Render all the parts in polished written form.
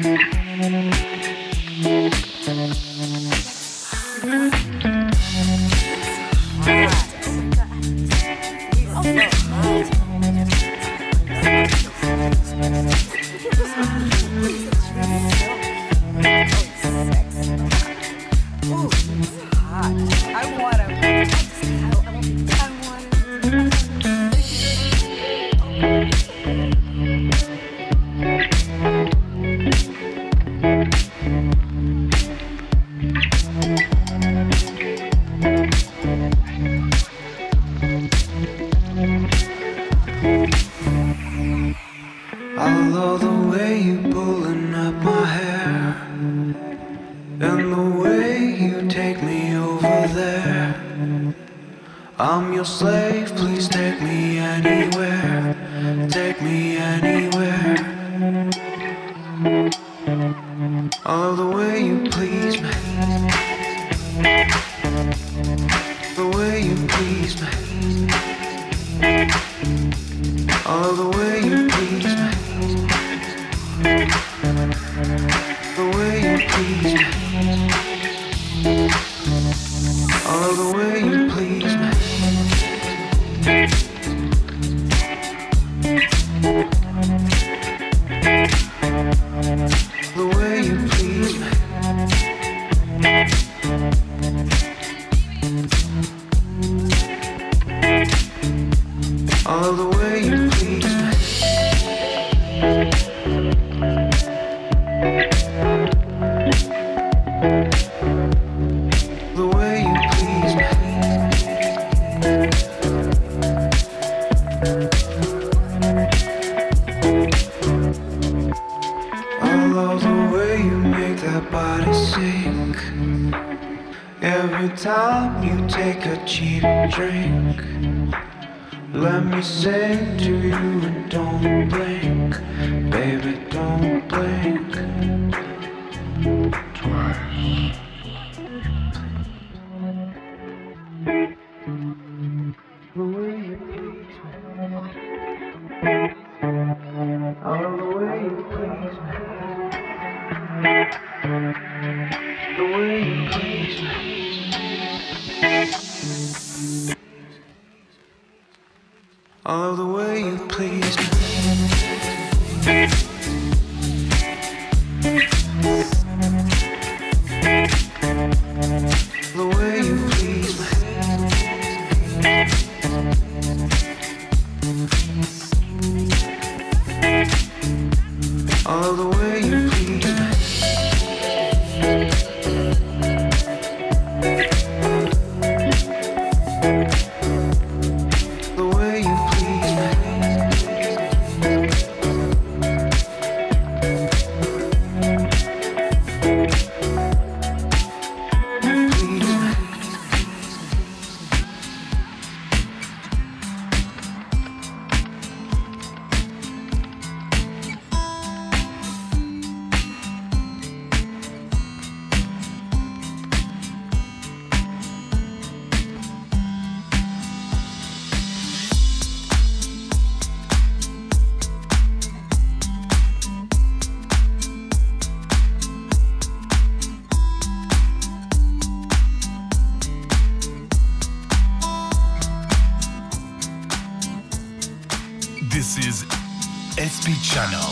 This is SP Channel.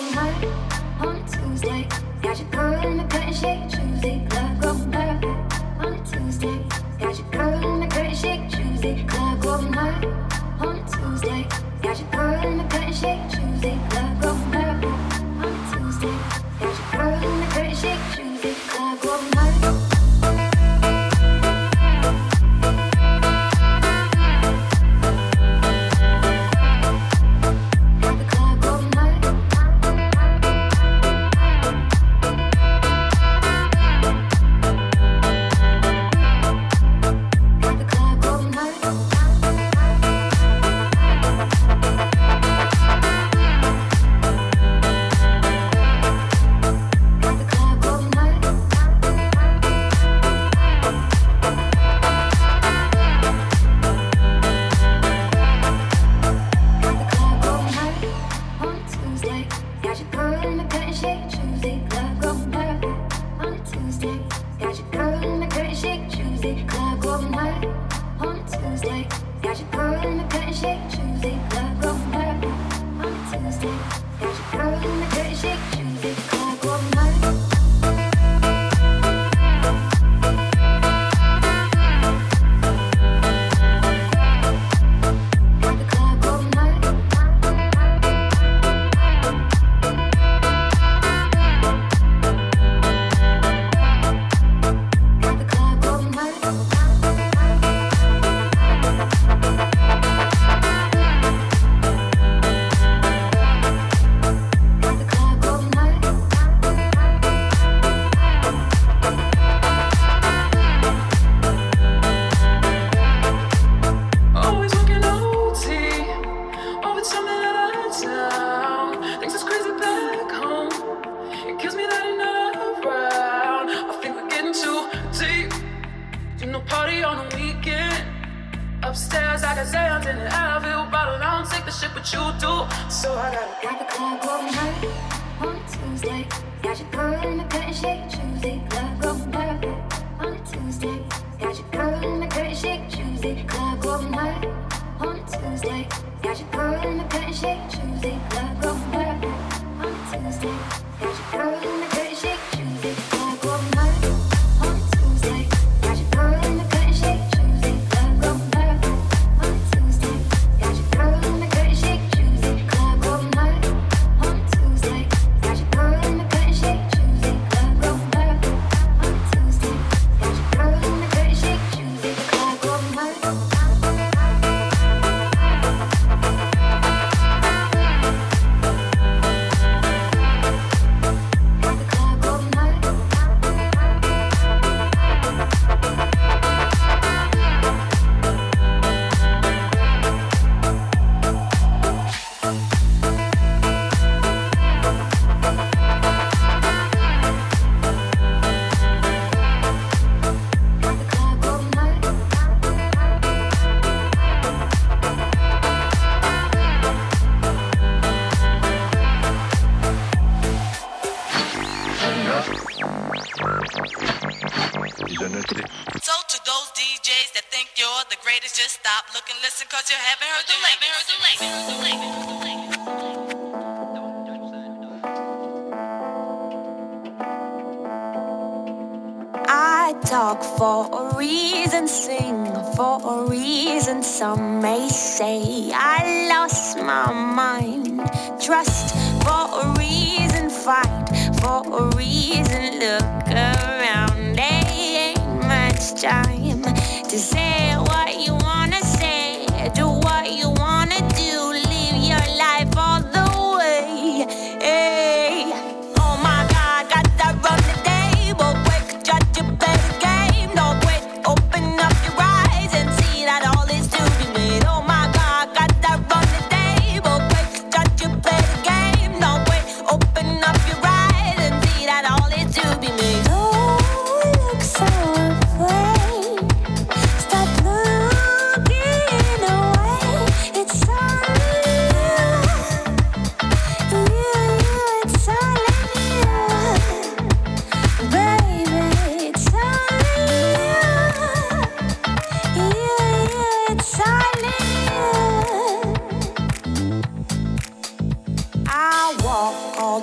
Some may say I lost my mind. Trust for a reason, fight for a reason. Look around, there ain't much time to say what you wanna say, do what you wanna do, live your life all the way. Hey. Oh my God, got that run the table, quick, judge your better game. No quit, open up your eyes and see that all is to be made. Oh my God, got that run the table, quick, judge your better game. No quit, open up your eyes and see that all is to be made.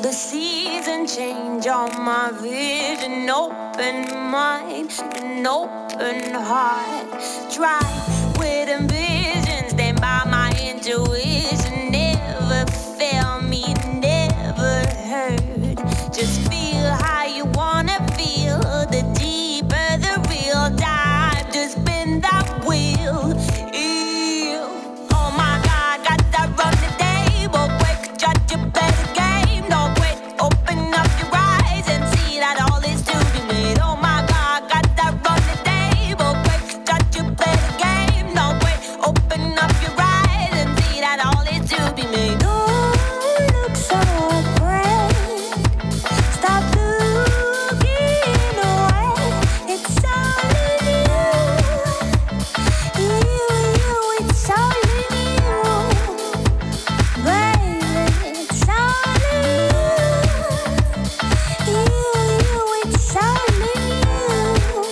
the season change on my vision. Open mind, an open heart. Drive with ambition, stand by my intuition. Never fail me, never hurt. Just feel how you wanna feel. The deeper the real dive, just spin that wheel. Ew. Oh my God, got that run the table. Quick, judge a better game. No wait, open up your eyes and see that all is to be made. Oh my God, got that run the table. Quick, judge a better game. No wait, open up your eyes and see that all is to be made. Oh, look so great. Stop looking away. It's all in you. It's all in you. Baby, it's all in you. It's all in you.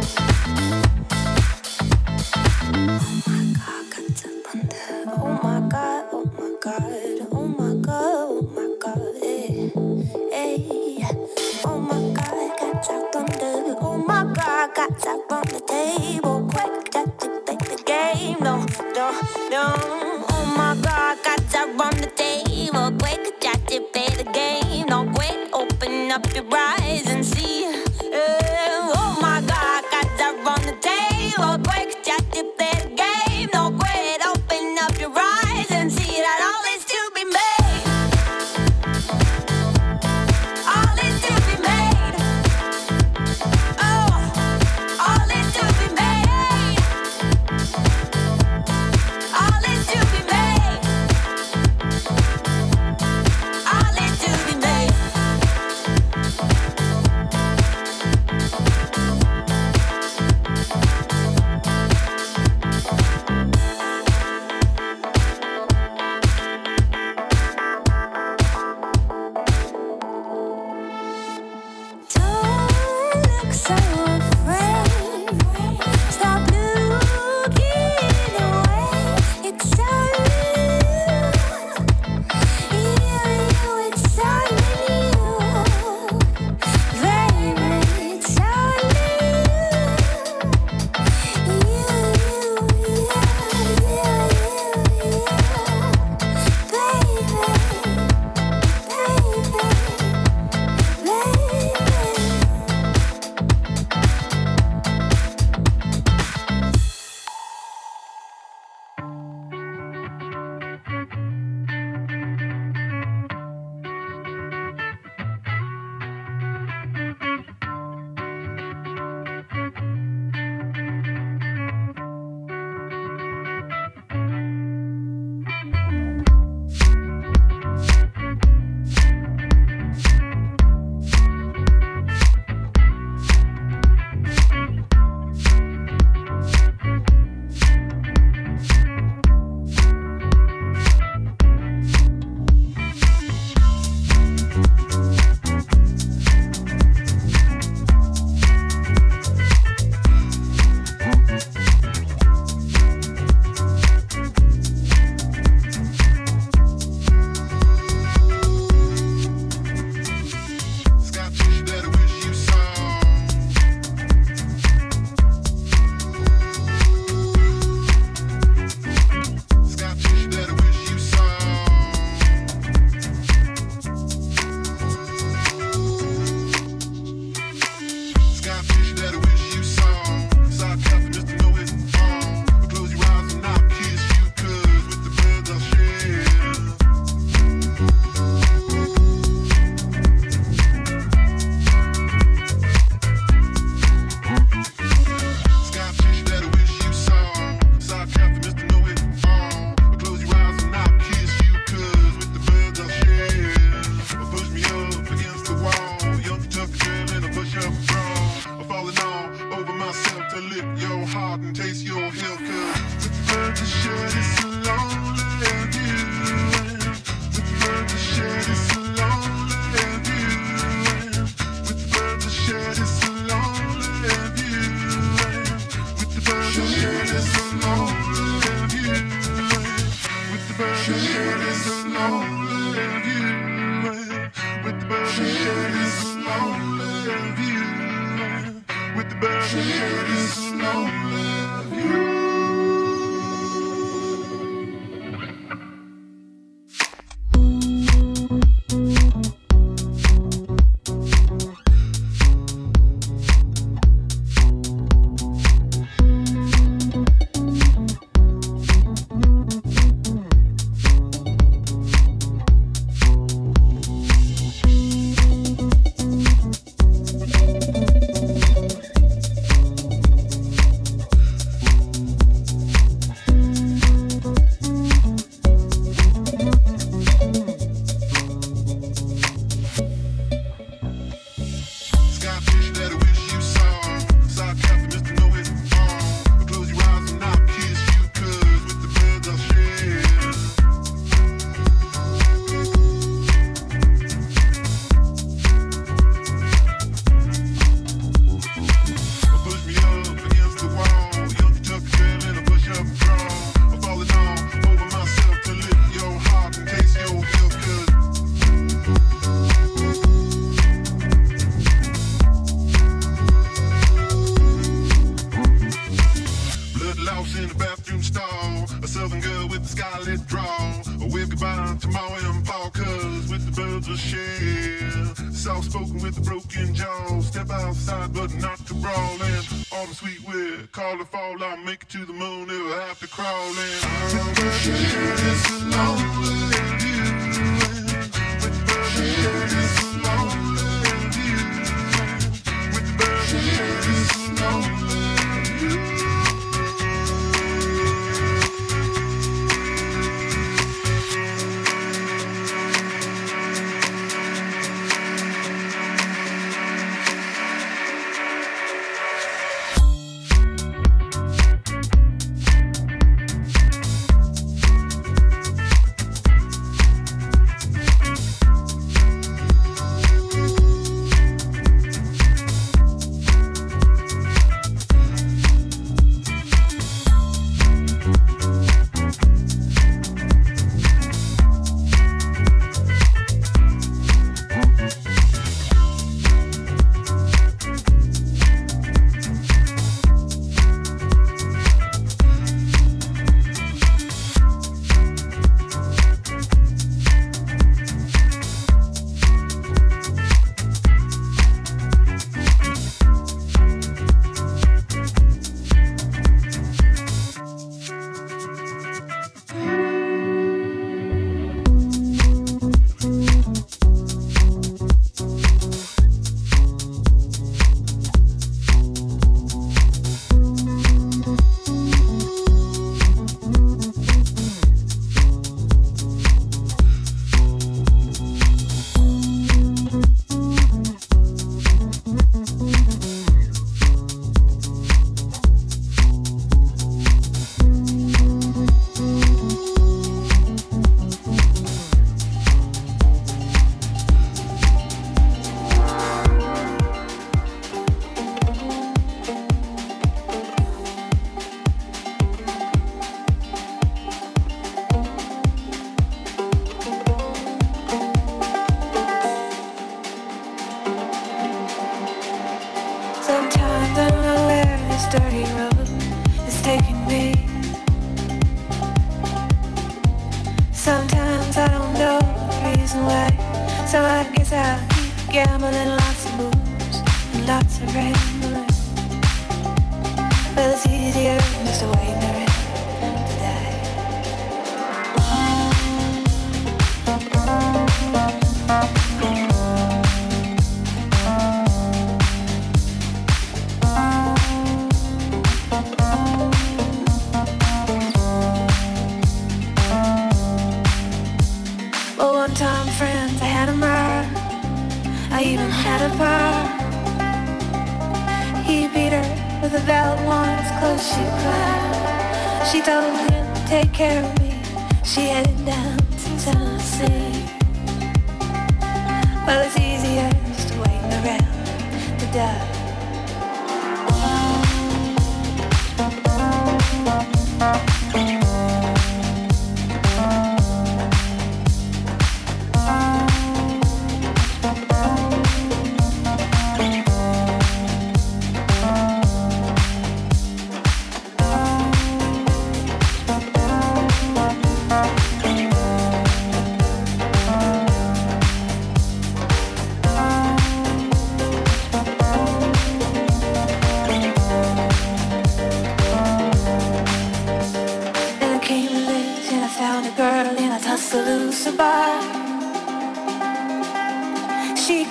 Oh my God, oh my God, oh my God, oh my God, hey. Oh my God, got that thunder. Oh my God, got that on the table. Quick, got to play the game. No, no, no. Oh my God, got that on the table. Quick, got to play the game. No, quick, open up your eyes and see. Oh my God, got that on the table. Quick, got to play the game. No, quick, open up your eyes and see that all is to be made. All is to be made. Oh, all is to be made. All is to be made. All is to be made.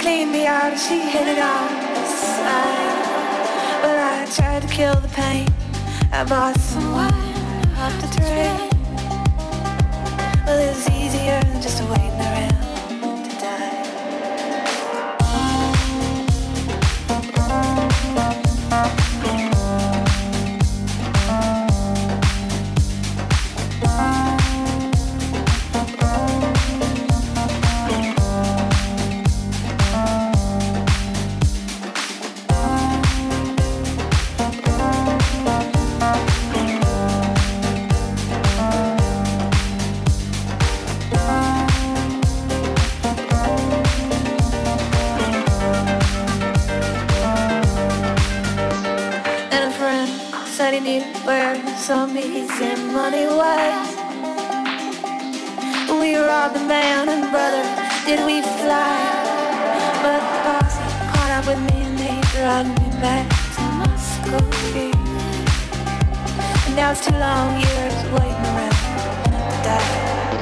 cleaned me out and she hit it on the side. Well, I tried to kill the pain. I bought some wine off the train. Well, it was easier than just waiting around to die. Where some easy money was. We robbed the man and brother, did we fly? But the boss caught up with me and they dragged me back to Moscow. And now it's 2 long years waiting around to die.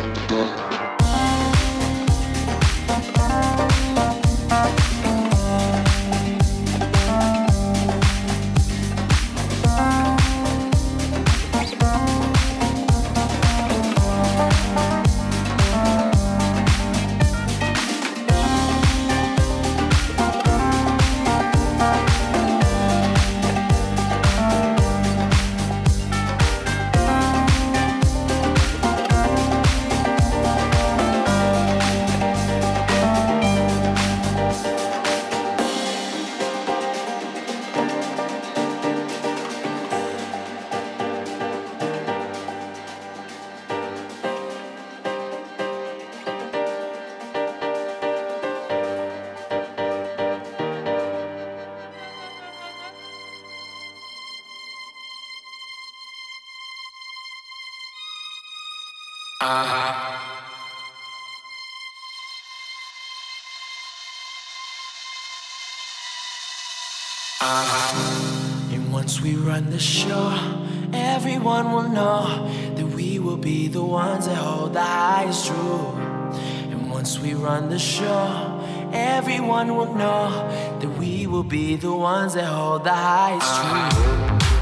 And once we run the show, everyone will know that we will be the ones that hold the highest truth. And once we run the show, everyone will know that we will be the ones that hold the highest truth.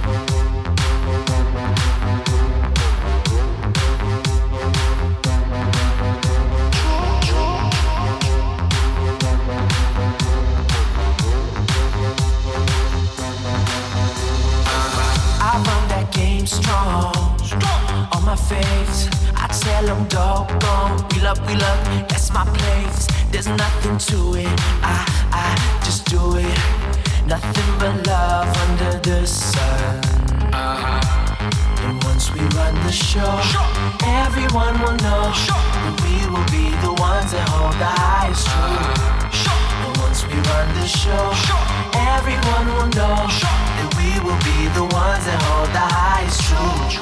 Strong on my face, I tell them doggone, wheel up, that's my place. There's nothing to it, I just do it. Nothing but love under the sun. And once we run the show, everyone will know that we will be the ones that hold the highest truth. And once we run the show, everyone will know that we will be the ones that hold the highest truth.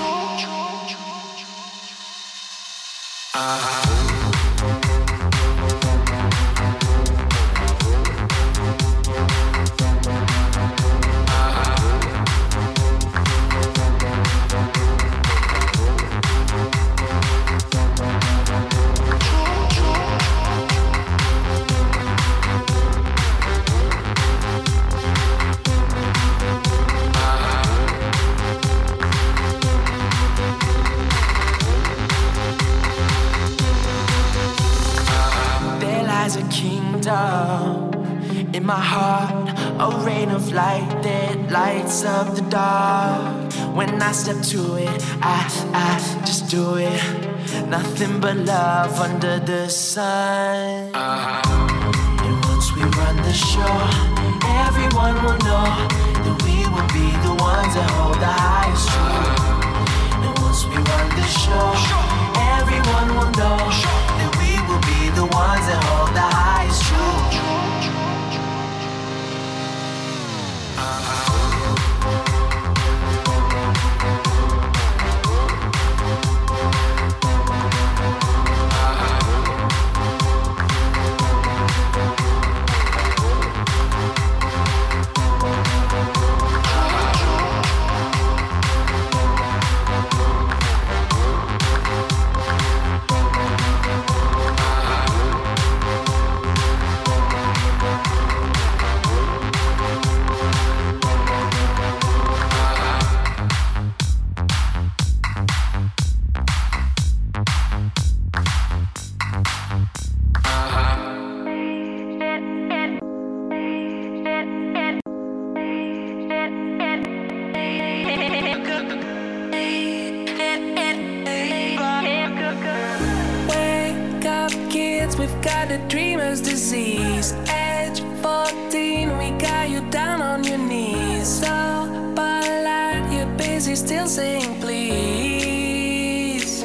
A kingdom in my heart, a rain of light that lights up the dark. When I step to it, I just do it. Nothing but love under the sun. And once we run the show, everyone will know that we will be the ones that hold the highest truth. And once we run the show, everyone will know that we will be the ones that hold the highest truth. the dreamer's disease. Age 14, we got you down on your knees. So polite, you're busy still saying please.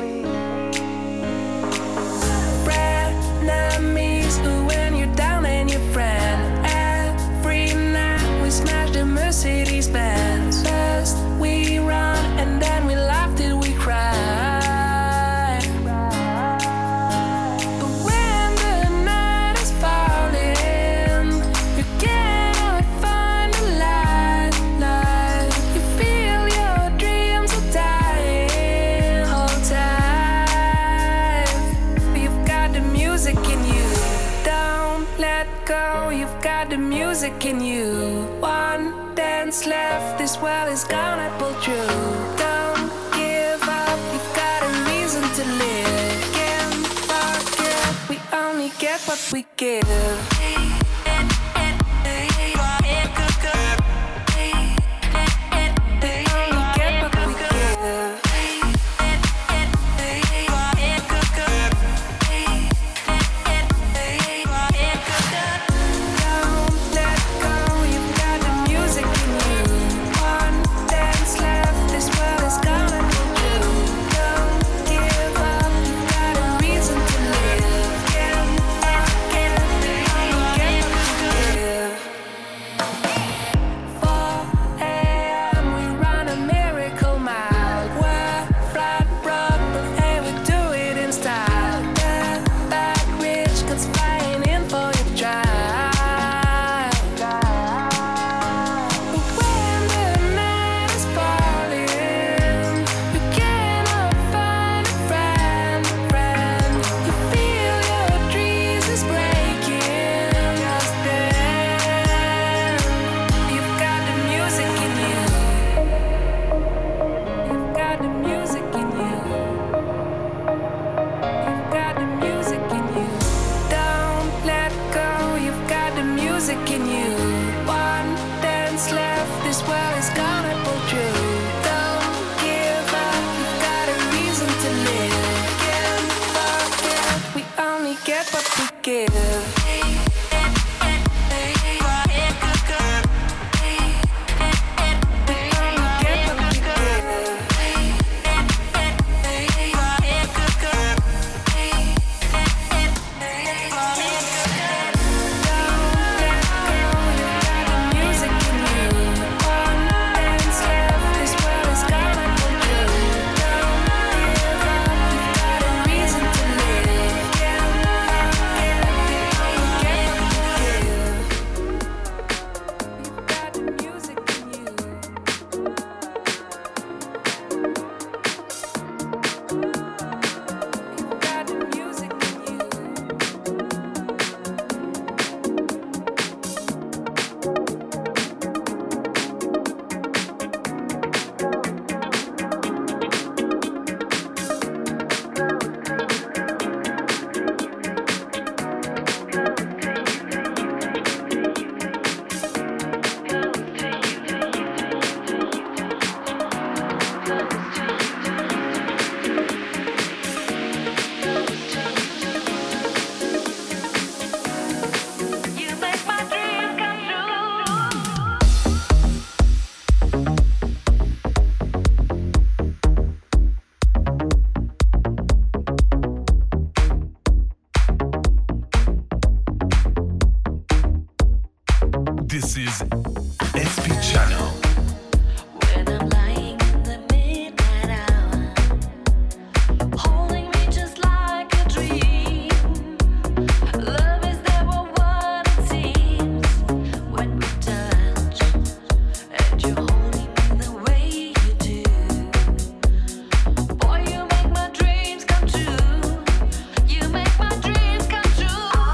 Frenemies, who when you're down and your friend. Every night we smash the Mercedes Benz. First we run and then we laugh till we cry. Music in you. One dance left, this world is gonna pull through. Don't give up, you've got a reason to live. Can't forget, we only get what we give. This is SP Channel.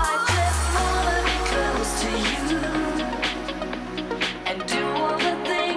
And do all the things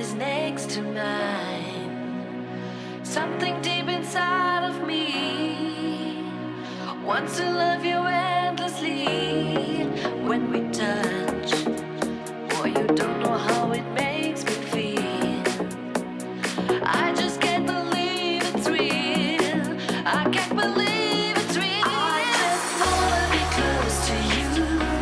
is next to mine. Something deep inside of me wants to love you endlessly. When we touch, boy, you don't know how it makes me feel. I just can't believe it's real. I can't believe it's real. I just wanna be close to you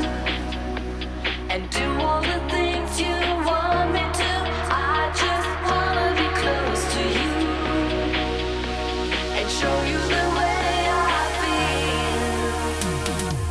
and do all the things you want me to. I just wanna be close to you and show you the way I feel.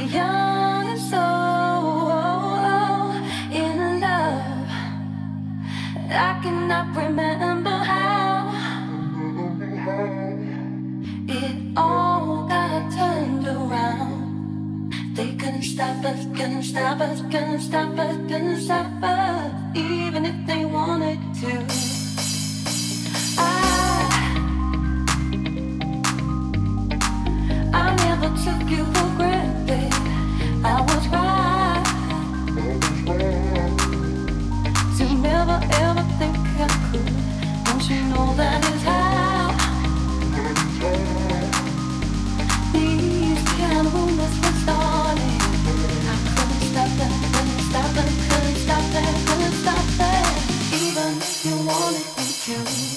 were young and so in love. I cannot remember how it all got turned around. They couldn't stop us, couldn't stop us, couldn't stop us, couldn't stop us, even if they wanted to. I never took you for granted. I was right to never ever think I could. Don't you know that is how these kind of rumors were started? I couldn't stop that, couldn't stop that, couldn't stop that, couldn't stop that, even if you wanted me to.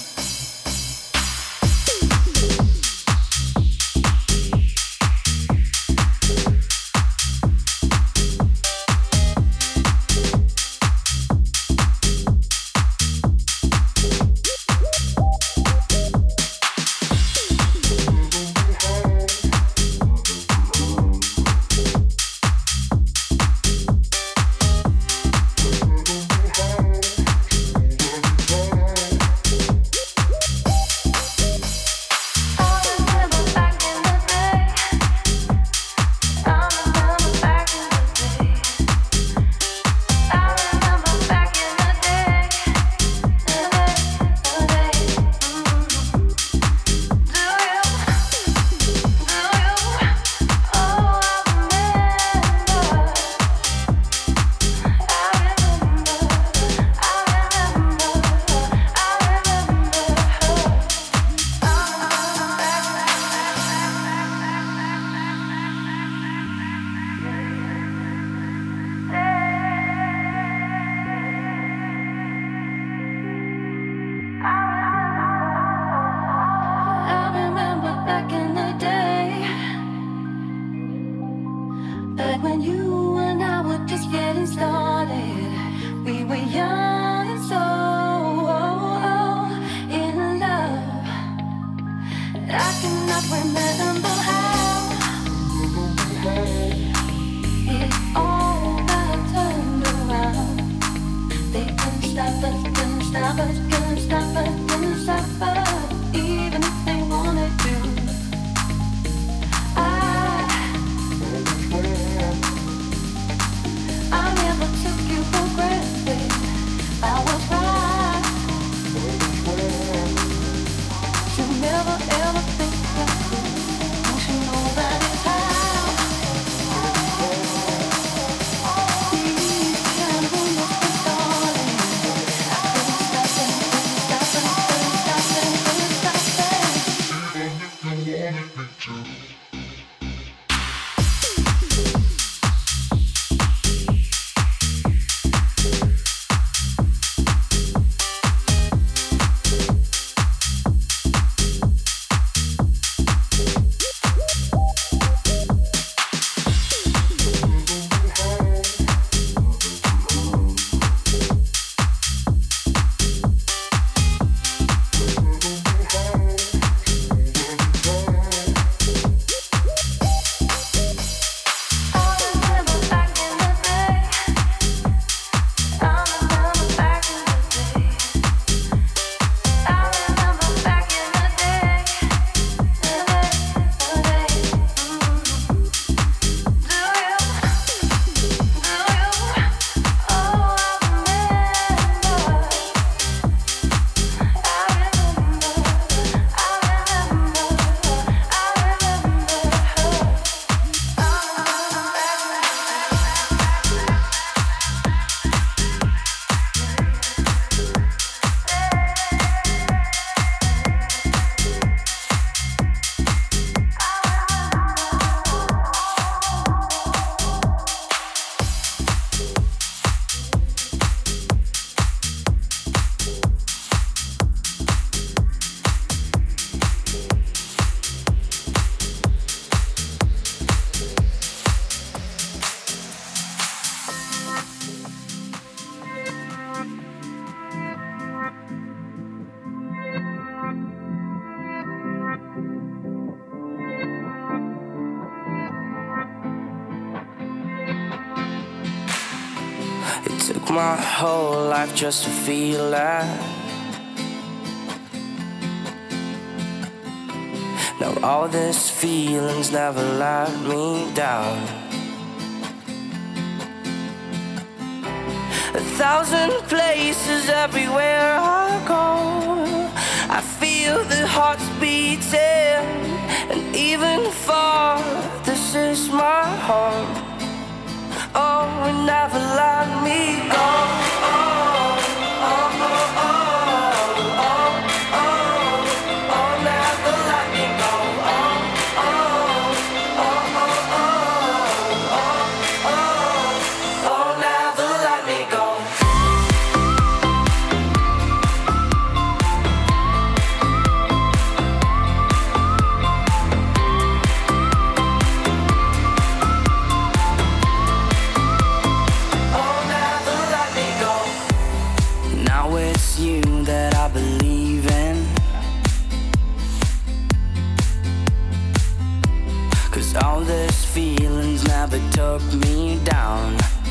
I Took my whole life just to feel that. Now all these feelings never let me down. 1,000 places everywhere I go, I feel the hearts beating, and even far, this is my home. Oh, it never let me go. Oh, oh, oh, oh, oh, oh, oh, oh, never let me go. Oh, oh, oh, oh, oh, oh, oh, oh, never let me go. All these feelings never took me down.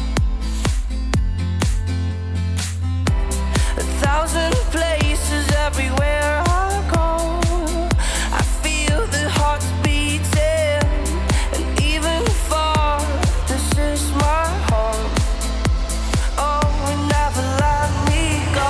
1,000 places everywhere I go, I feel the hearts beating, and even far, this is my home. Oh, it never let me go.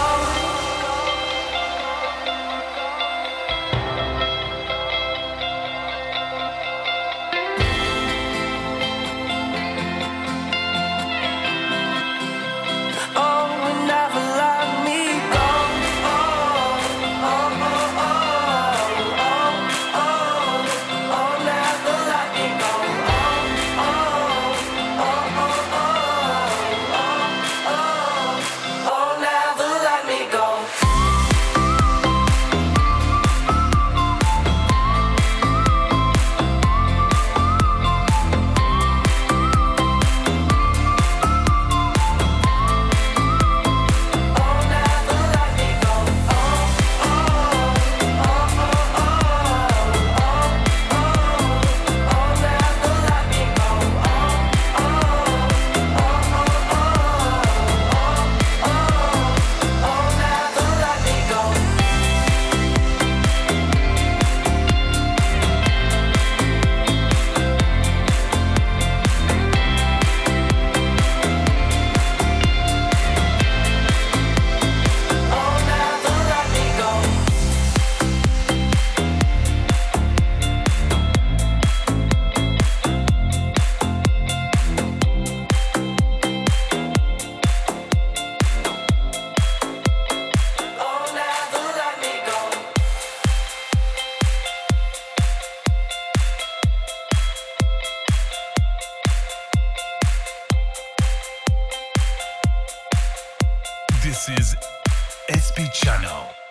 This is SP Channel.